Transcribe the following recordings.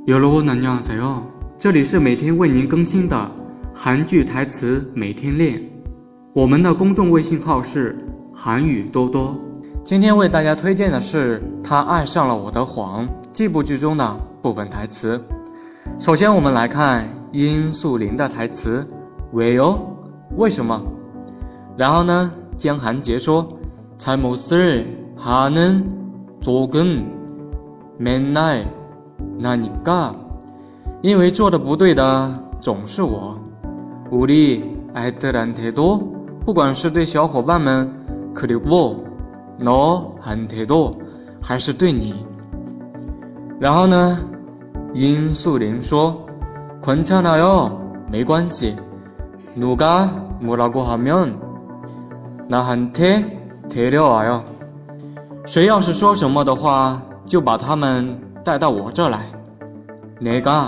여러분 안녕하세요，这里是每天为您更新的韩剧台词每天练。我们的公众微信号是韩语多多。今天为大家推荐的是他爱上了我的谎这部剧中的部分台词。首先我们来看殷素玲的台词，왜요？为什么？然后呢，江韩杰说，잘못을 하는 쪽은 맨날 나니까，因为做的不对的总是我。우리 애들한테도，不管是对小伙伴们，그리고 너한테도，还是对你。然后呢，殷素玲说，괜찮아요，没关系。누가 뭐라고 하면 나한테 데려와요，谁要是说什么的话，就把他们带到我这来。내가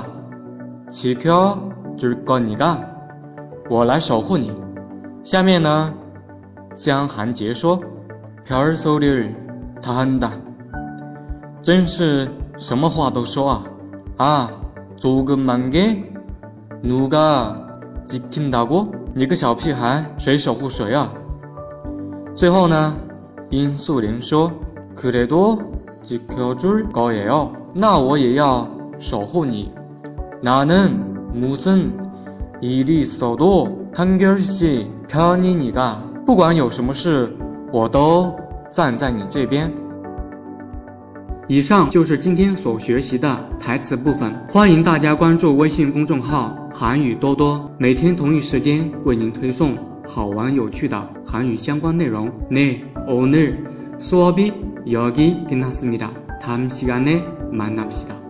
지켜줄 거니까，我来守护你。下面呢，江韩杰说，별소리를 다 한다，真是什么话都说啊。조금만 게 누가 지킨다고？你个小屁孩，谁守护谁啊？最后呢，殷素玲说，그래도 지켜줄 거예요，那我也要守护你。나는 무슨 일이 있어도 한결씩 편이니까，不管有什么事，我都站在你这边。以上就是今天所学习的台词部分，欢迎大家关注微信公众号韩语多多，每天同一时间为您推送好玩有趣的韩语相关内容。네, 오늘 수업이 여기 끝났습니다. 다음 시간에 만납시다.